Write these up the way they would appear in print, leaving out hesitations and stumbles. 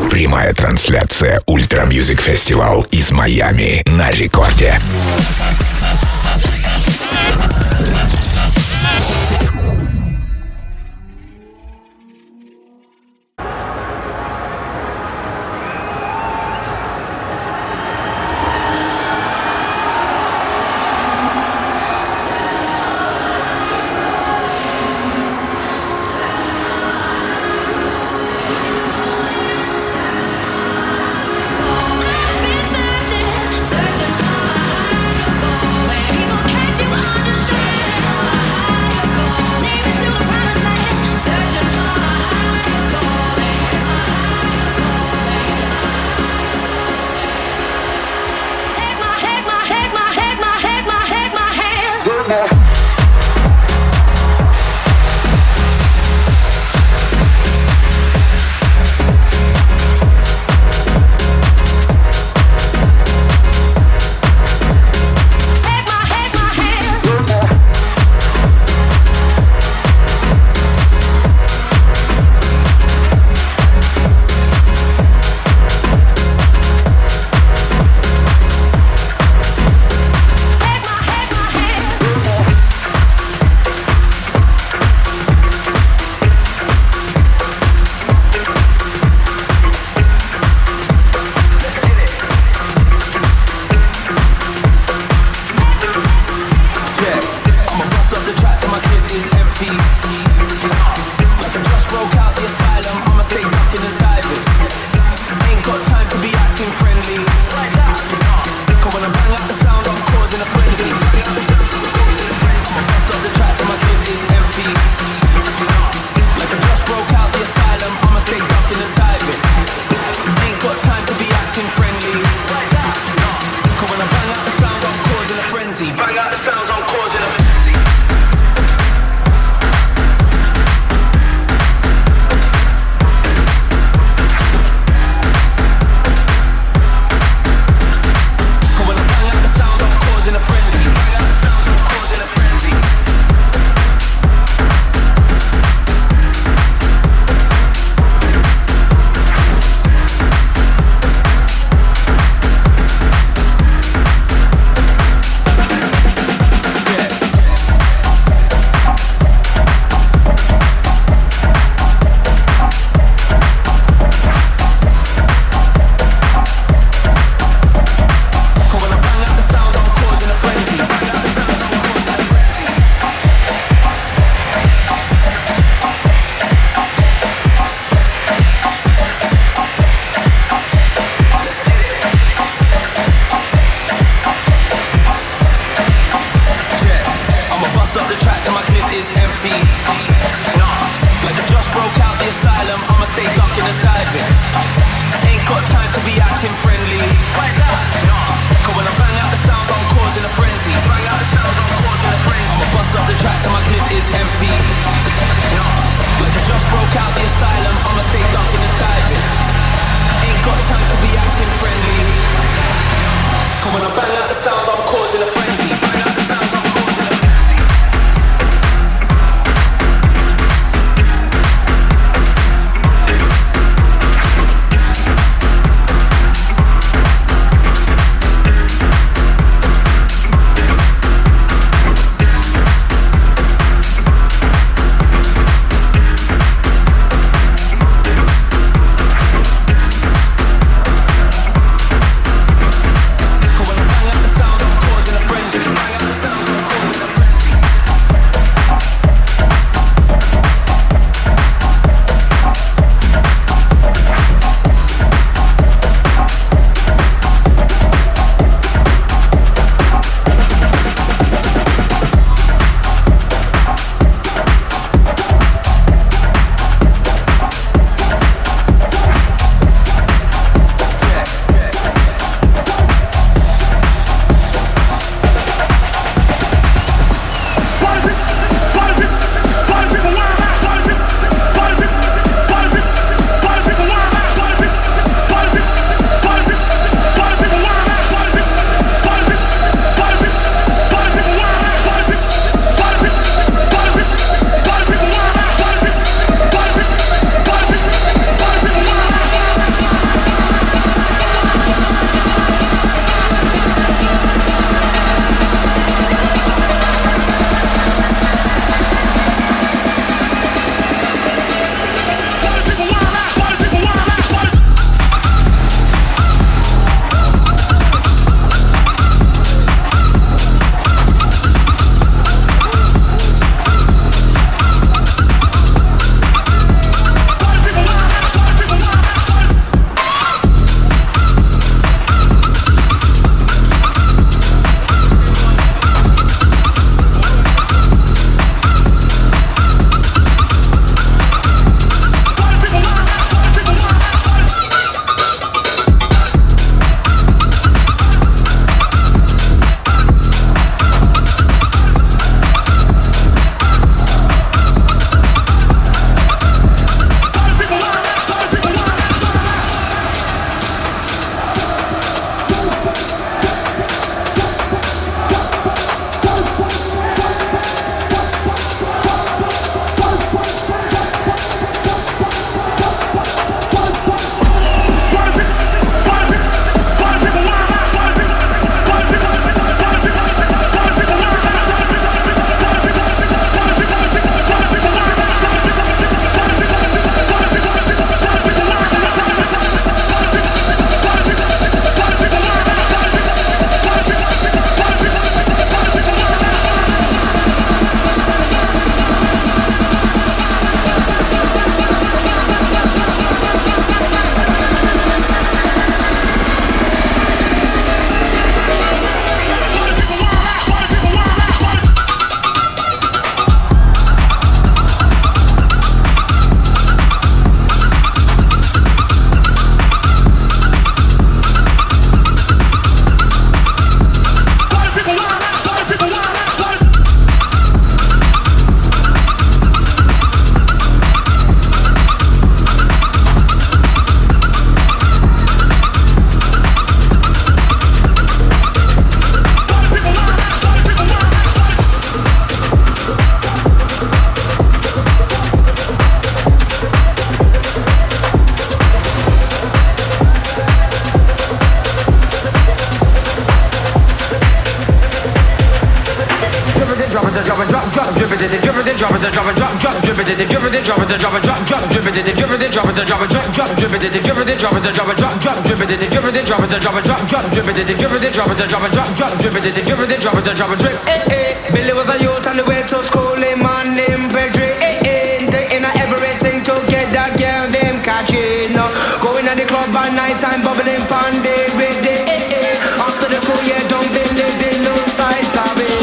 Прямая трансляция Ультра Мьюзик Фестивал из Майами на рекорде. Searching for a higher goal. drop it, drop it, drop, drop, drip it, drip it, drop it, drop it, drop, drop, drip it, drip it, drop it, drop it, drop, drop, drip it, drip it, drop it, drop it, drop, drop, drip it, drip it, drop it, drop it, drop, drop, drip it, drip it, drop it, drop it, drop, drop, drip it, drip it, drop it, drop it, drip. Billy was a youth on the way to school, him man named Pedri. Taking everything to get that girl them catching. Going at the club at night time, bubbling pandey with the after the school year, don't believe the low size of it.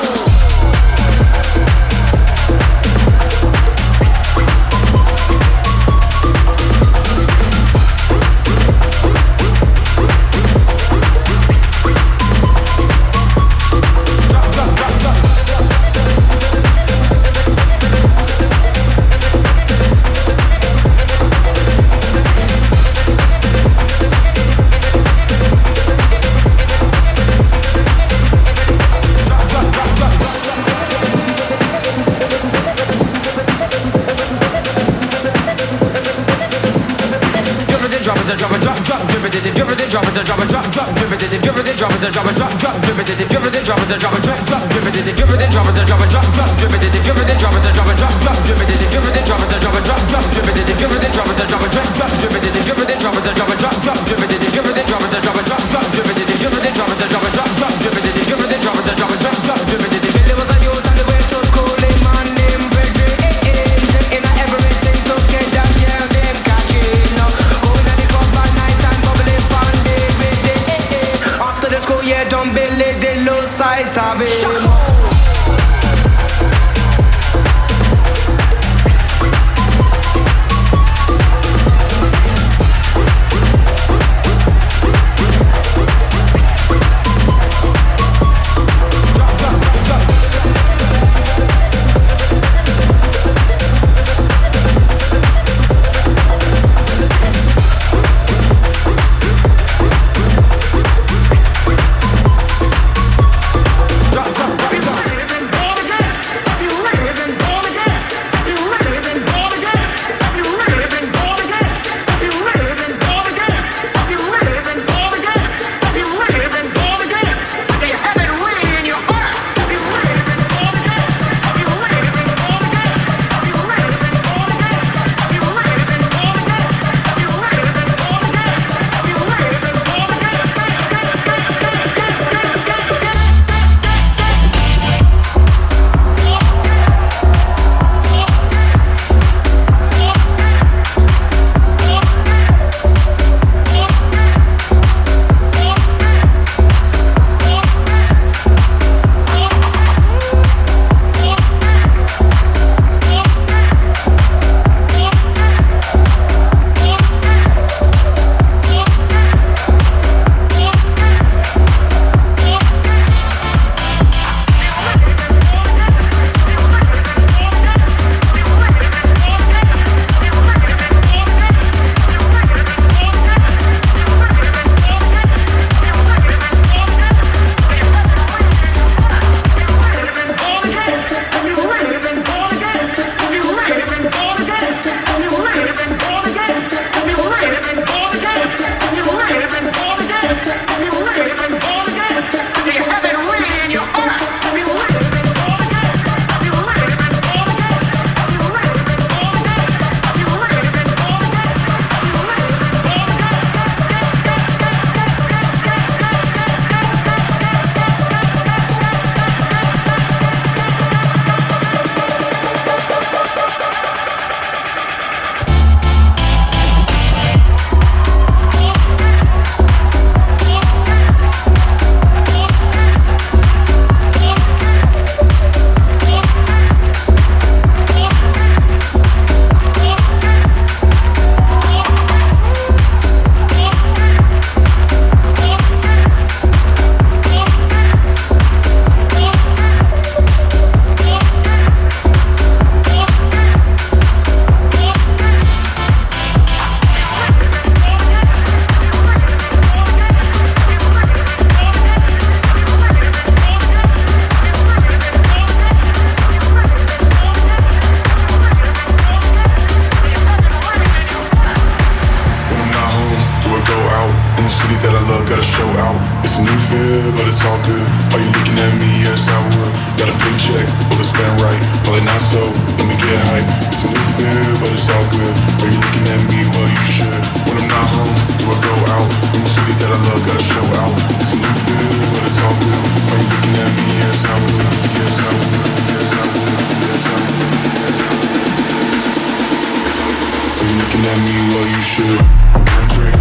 Drop it, drop it, drop, drop, drip it, drip it, drop it, drop it, drop, drop, drip it, drip it, drop it, drop it, drop, drop, drip it, drip it, drop it, drop it, drop, drop, drip it, drip it, drop it, drop it, drop, drop, drip it, drip it, drop it, drop it, drop, drop, drip it, drip it, drop it, drop it, drop, drop, drip it, drip it, drop it, drop it, drop, drop, drip it, drip it, drop it, drop it, drop, drop, drip it, drip it, drop it, drop it, drop, drop, drip it, drip it, drop it, drop it, drop, drop, drip it. Billy was a youth on the way to school, a man named Pedri. Taking everything to get that girl them catching. Going at the club at night and bubbling pandey with it. After the school year, don't believe the low size of it. Drop, drop, drop, drop. In the city that I love, gotta show out. It's a new fear, but it's all good. Are you looking at me? Yes, I would. Got a paycheck, will it spend right? Probably not so, let me get hype. It's a new fear, but it's all good. Are you looking at me? Well, you should. When I'm not home, do I go out? In the city that I love, gotta show out. It's a new fear, but it's all good. Are you looking at me? Yes, I would. Yes, I would. Yes, I would. Yes, I would. Yes, I would. Are you looking at me? Well, you should. One drink.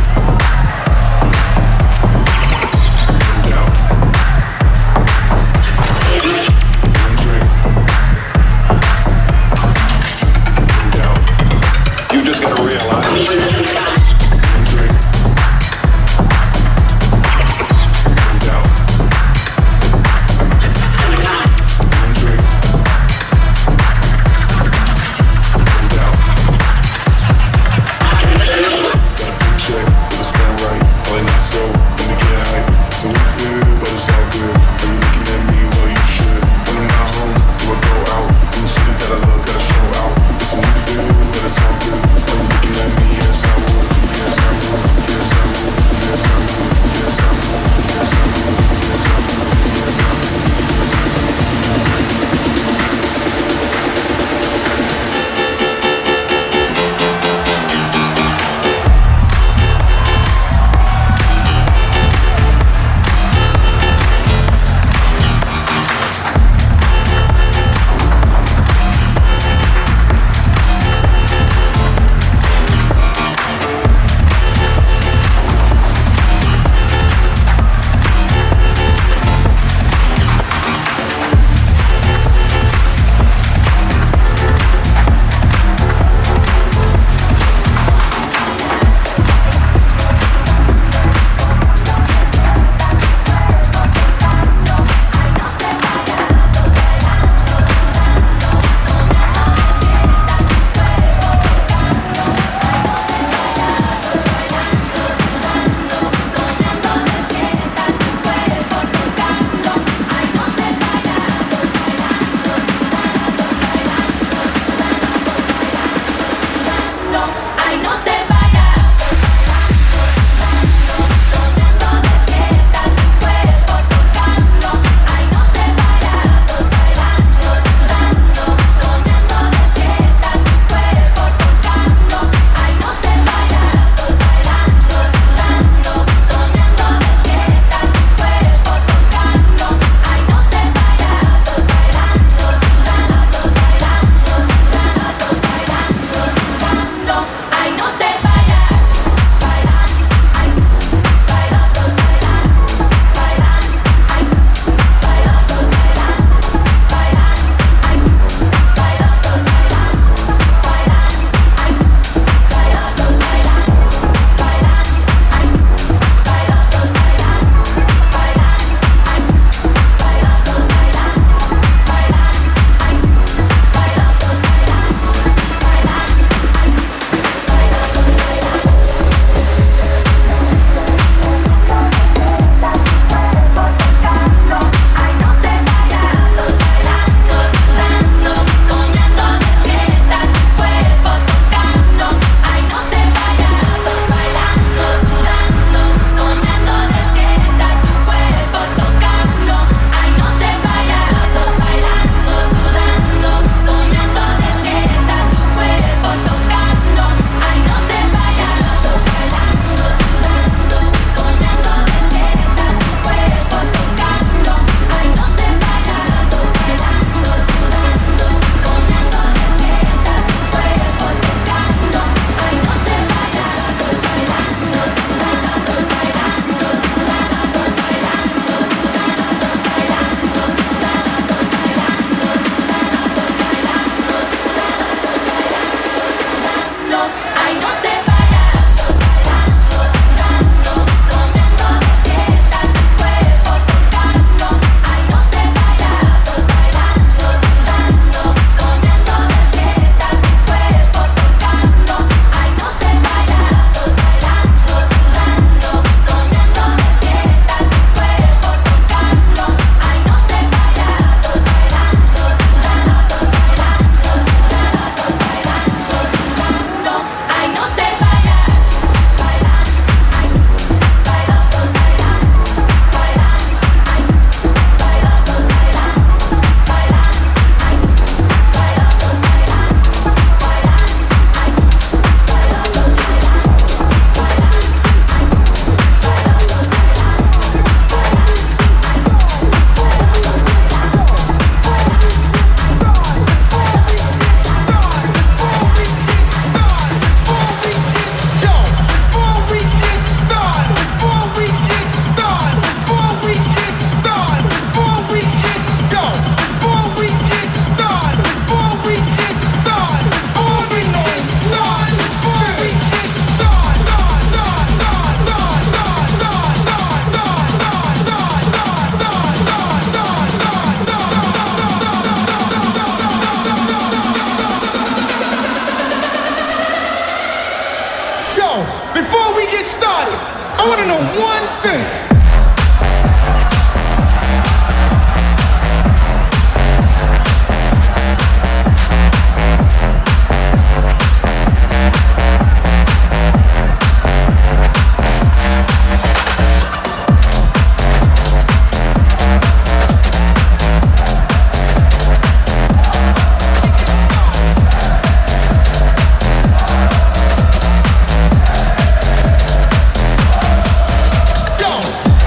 You just gotta realize get started, I want to know one thing. Yo!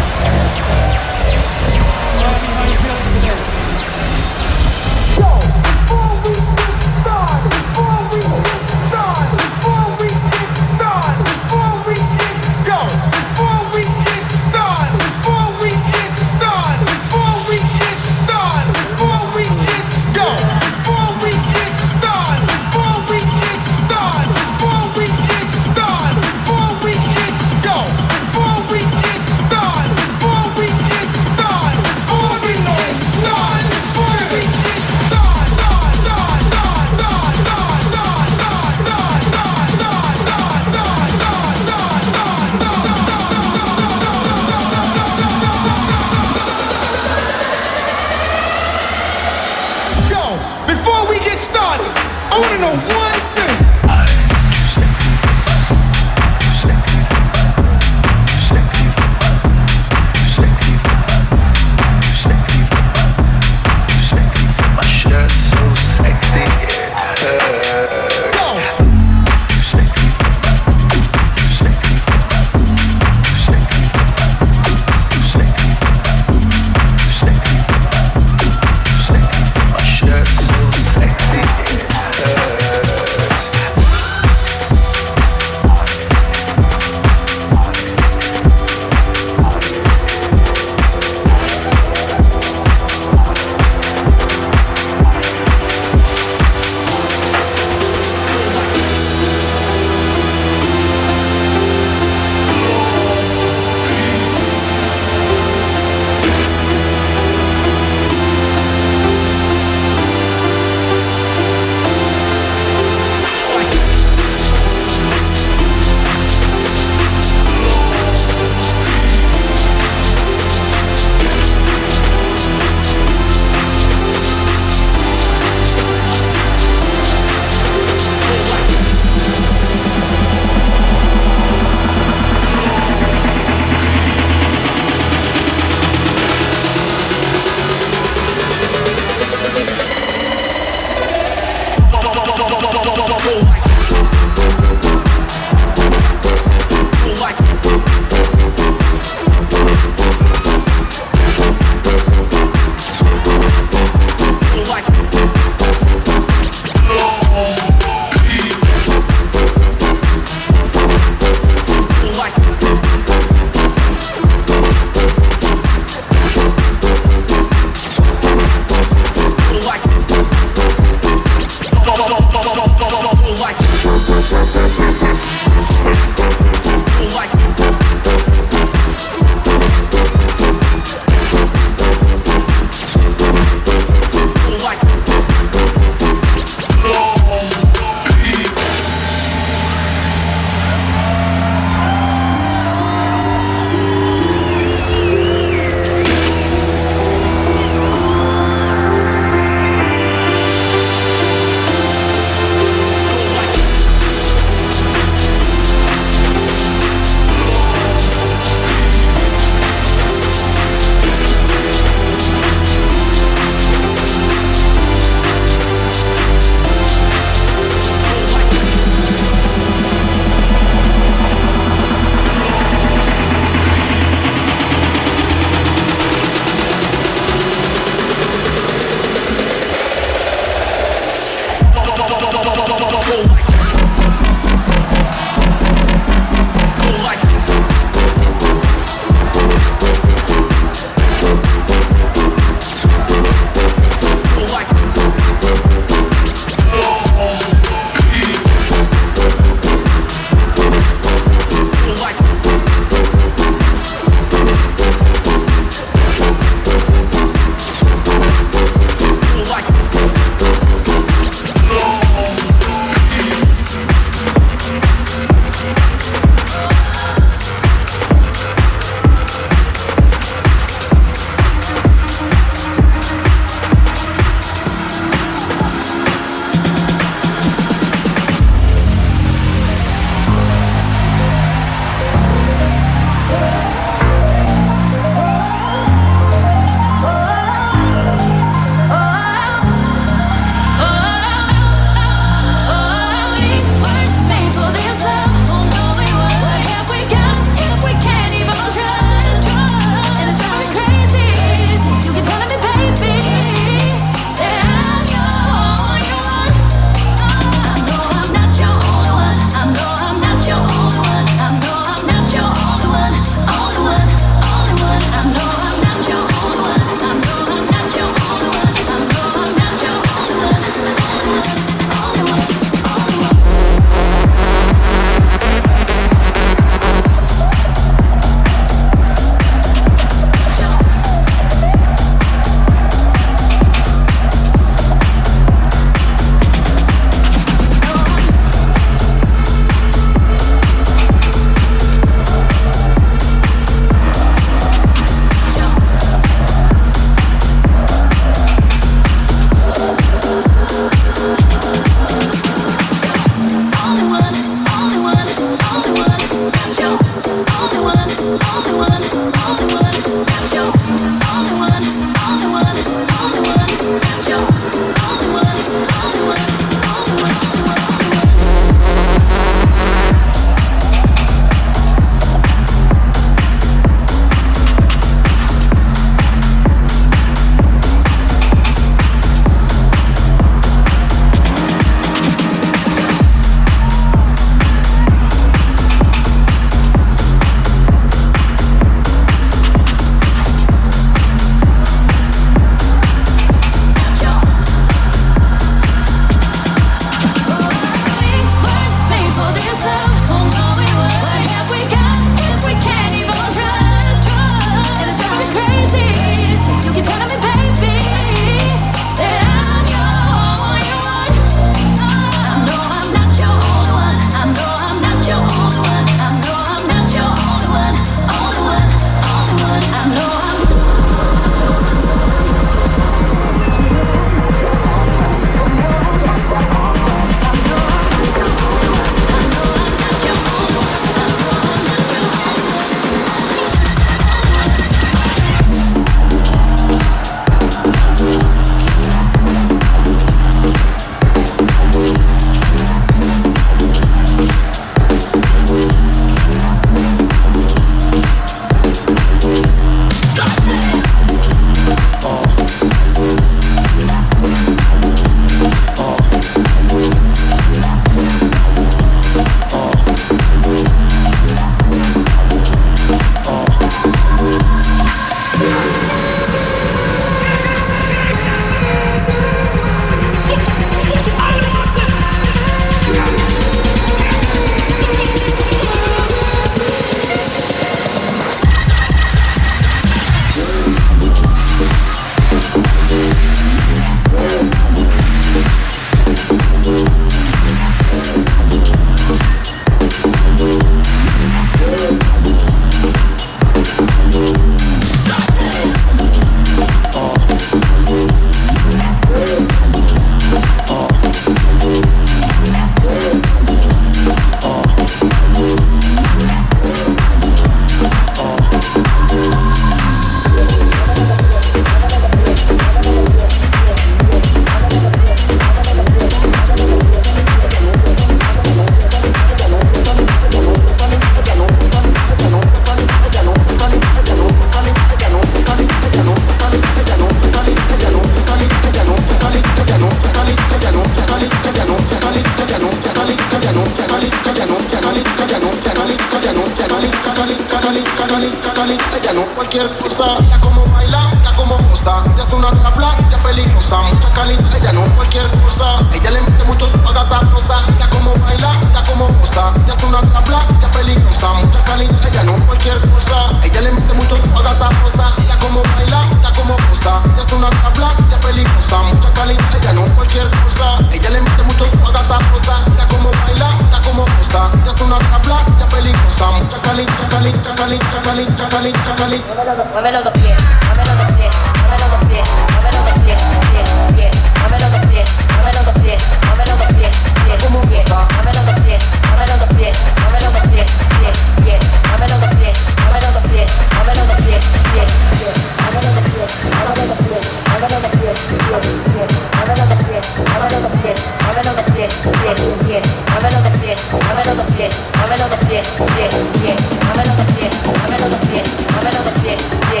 chacali, chacali. Ella no cualquier cosa. Ya como baila, ya como posa. Ya es una tabla, ya peligrosa. Mucha calidad, ella no cualquier cosa. Ella le mete muchos pagas rosa. Ya como baila, ya como posa. Ya es una tabla, ya peligrosa. Mucha calidad, ella no cualquier cosa. Ella le mete muchos pagas rosa. Ya como baila, ya como posa. Ya es una tabla, ya peligrosa. Mucha calidad, ella no cualquier cosa. Ella le mete muchos pagas rosa. Ya como baila, ya como posa. Ya es una tabla, ya peligrosa. Mucha calidad, chacali, chacali, chacali, chacali, chacali. Muévelo dos pies, muévelo dos pies, muévelo dos pies, muévelo dos pies, pie, pie, muévelo dos pies, muévelo dos pies, muévelo dos pies, pie, como pie, muévelo dos pies, muévelo dos pies, muévelo dos pies, pie, pie, muévelo dos pies, muévelo dos pies, muévelo dos pies, pie, pie, muévelo dos pies, muévelo dos pies, muévelo dos pies, pie, pie, muévelo dos pies, muévelo dos pies, muévelo dos pies, pie, pie, muévelo dos pies, muévelo dos pies, muévelo dos pies, pie, pie, muévelo dos pies, muévelo dos pies, muévelo dos pies, pie.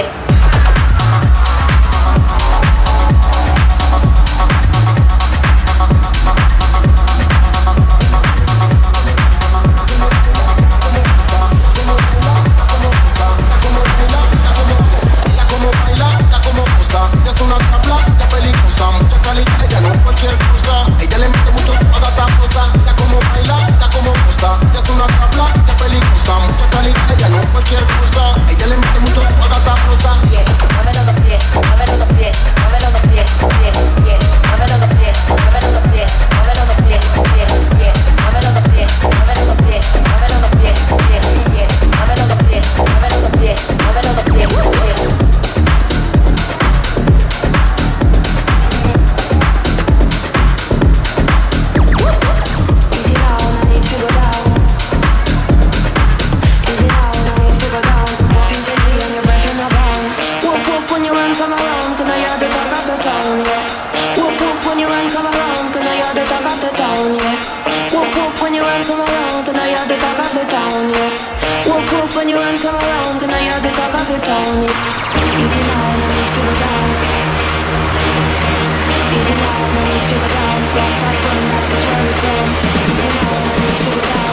Ya es una tabla, ya peligrosa. Mucha calidad, ella no cualquier cosa. Ella le mete muchos pagataposa. Ya como baila, ya como posa. Ya es una tabla, ya peligrosa. Mucha calidad, ella no cualquier cosa. Ella le mete muchos pagataposa. Muévelo dos pies, muévelo dos pies, muévelo dos pies, pie, pie, muévelo dos pies, muévelo dos pies, muévelo dos pies, pie, pie, muévelo dos pies, muévelo dos pies, muévelo dos pies, pie, pie, muévelo dos pies, muévelo dos pies, muévelo dos pies, pie. When you run, come around, can I hear the talk of the town? Easy now, no need to go down. Easy now, no need to go down. Rock that run, that is where we're from. Easy now, no need to go down.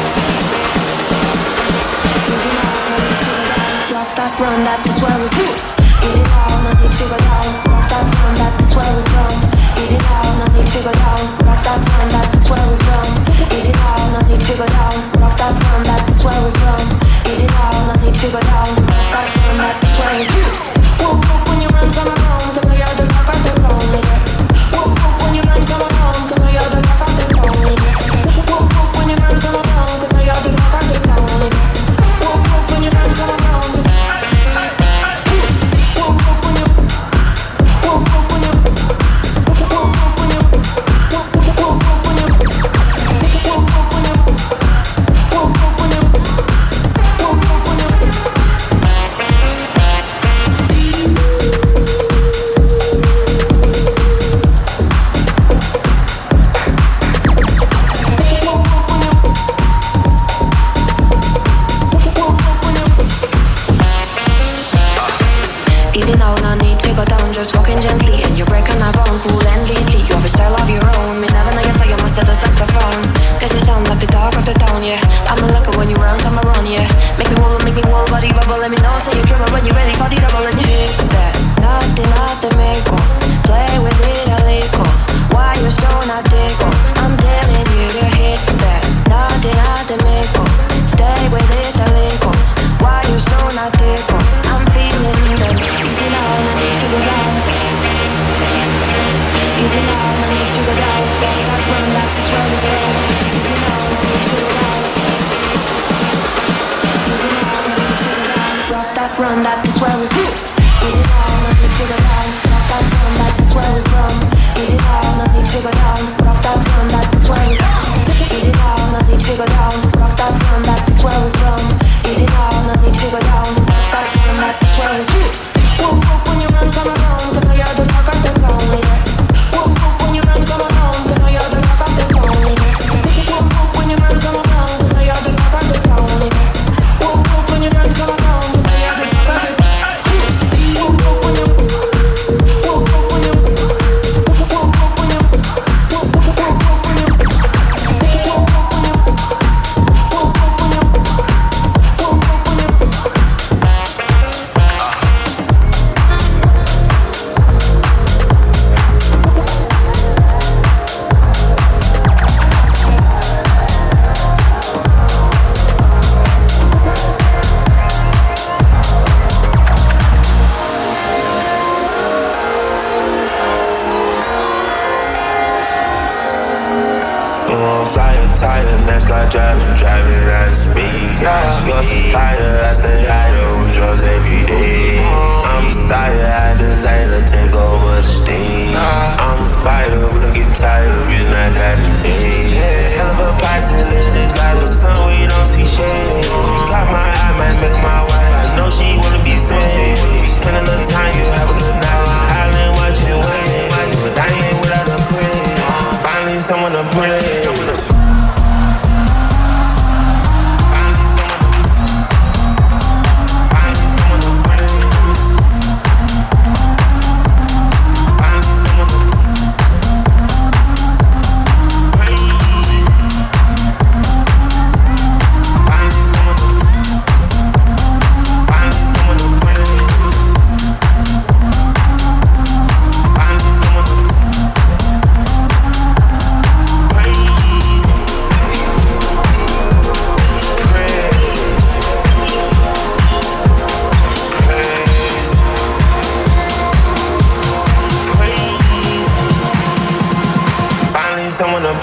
Easy now, no need to go down. Rock that run, that is where we're from. Easy now, no need to go down. Rock that run, that is where we're from. Easy now, no need to go down. Rock that run, that is where we're from. Easy now, no need to go down. Rock that run, that is where we're from. Easy now, no need to go down. That run, that is where you whoop, whoop, when you run, come around. Come on, you're the cock of the town. Whoop, whoop, when you run, come around. Come on, you're the cock of the town. Whoop, whoop, when you run, come around. Come on, you're the cock of the town. Whoop, whoop, when you run, come around. Whoop, whoop, when you whoop, whoop, when you whoop, whoop, when you whoop, whoop, when you whoop, whoop, when you whoop, whoop, when you just walking gently and you're breaking my bone, cool and lately you have a style of your own. Me never know you say you must have the saxophone, cause you sound like the talk of the town, yeah. I'm a lucky when you run, come around, yeah. Make me wobble, body bubble, let me know, say you're dribble when you're ready for the double and you hit that. Nothing, meko, play with it a little. Why you so not tickle? I'm telling you to hit that. Nothing, meko, stay with it a little. Why you so not tickle? I'm feeling that. Easy now, no need to go down. Easy now, no need to go down. Rock that run, that is where we're from. Easy now, no need to go down. Easy now, no need to go down. Rock that run, that is where we're from. Easy now, no need to go down. Rock that run, that is where we're from. Easy now, no need to go down. Rock that run, that is where we're from. Easy now, no need to go down. Rock that run, that is where we're from. Easy now, no need to go down. Rock that run, that is where we're from. Whoop, whoop, when you run, come around. Come on, you're the cock of the town, yeah. Whoop, whoop, when you run, come around. Come on, you're the cock of the town, yeah. Whoop, whoop, when you run, come around. Come on, you're the cock of the town, yeah. Whoop, whoop, when you run, come around. Come on, you're the cock of the town. Whoop, whoop, when you whoop, whoop, when you whoop, whoop, when you whoop,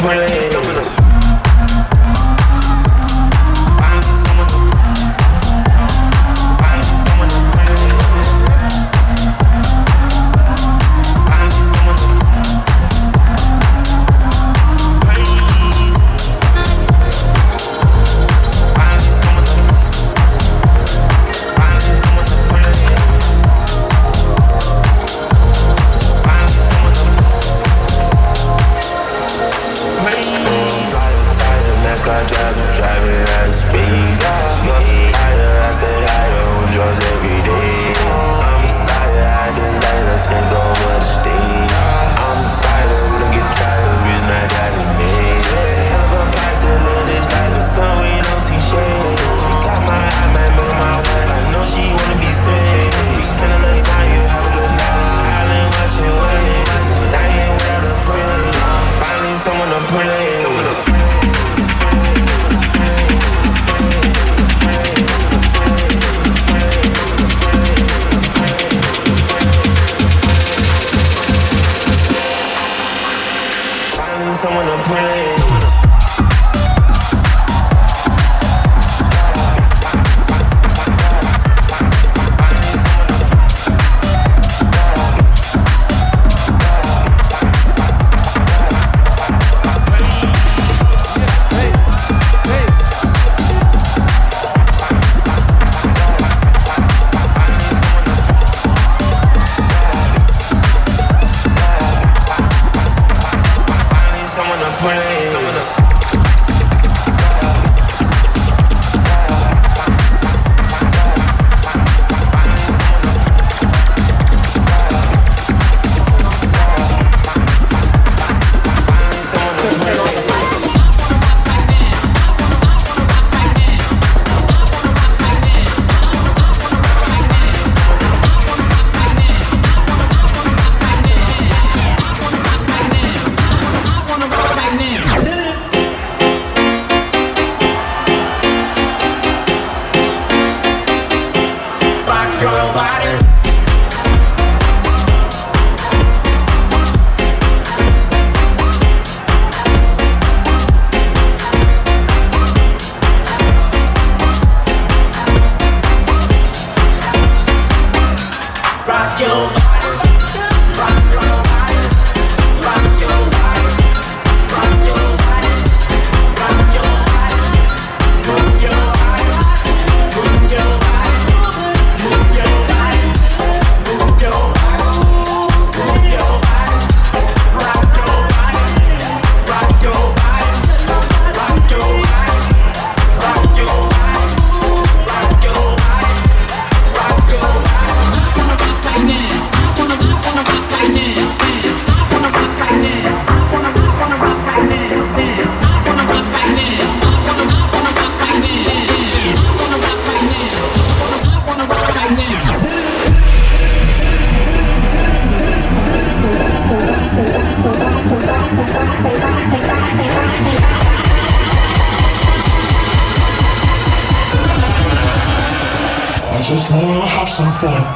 just wanna have some fun.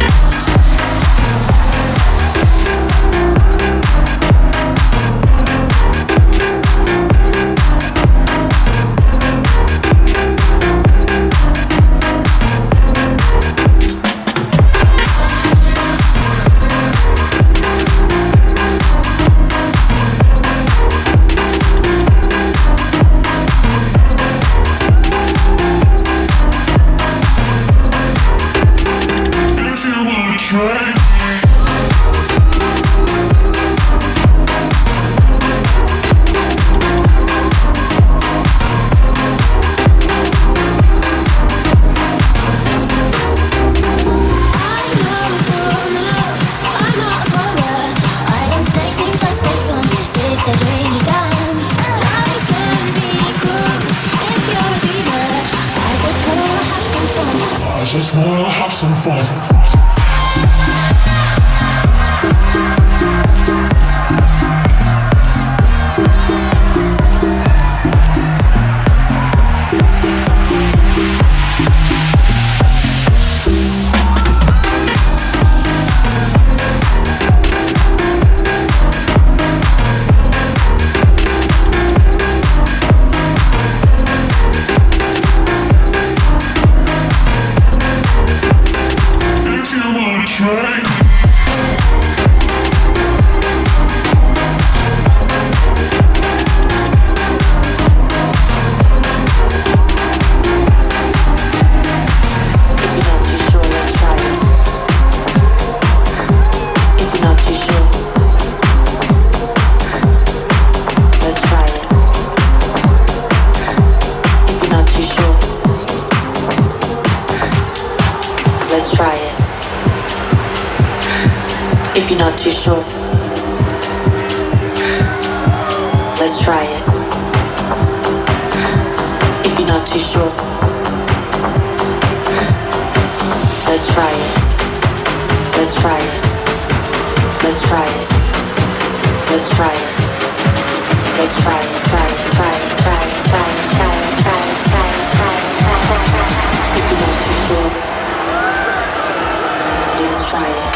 Just wanna have some fun. sure, let's try it. If you're not too sure, let's try it. Let's try it. Let's try it. Let's try it. Let's try it. Try it. Try it. Try it. Try it. Try it. Try it. Try it. Try it. If you're not too sure, let's try it.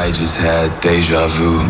I just had deja vu.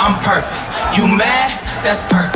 I'm perfect. You mad? That's perfect.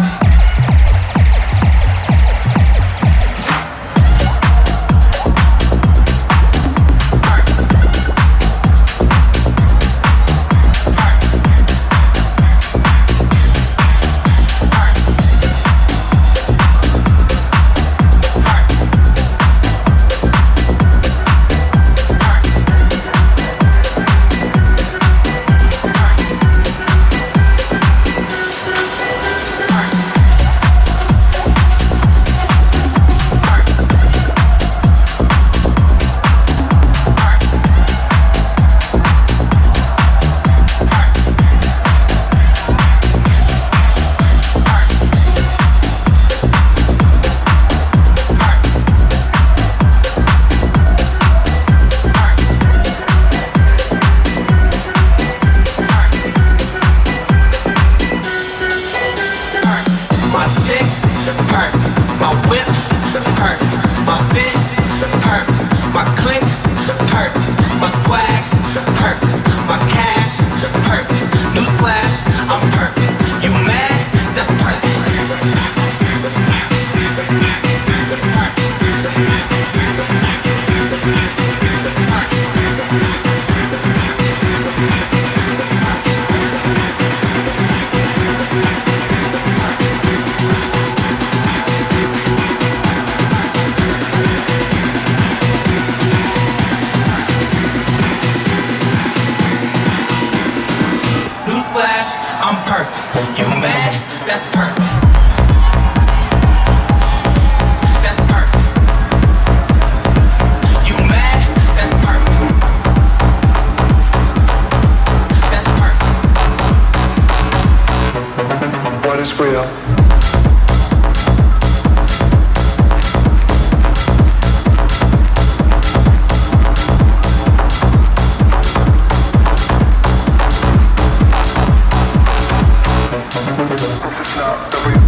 The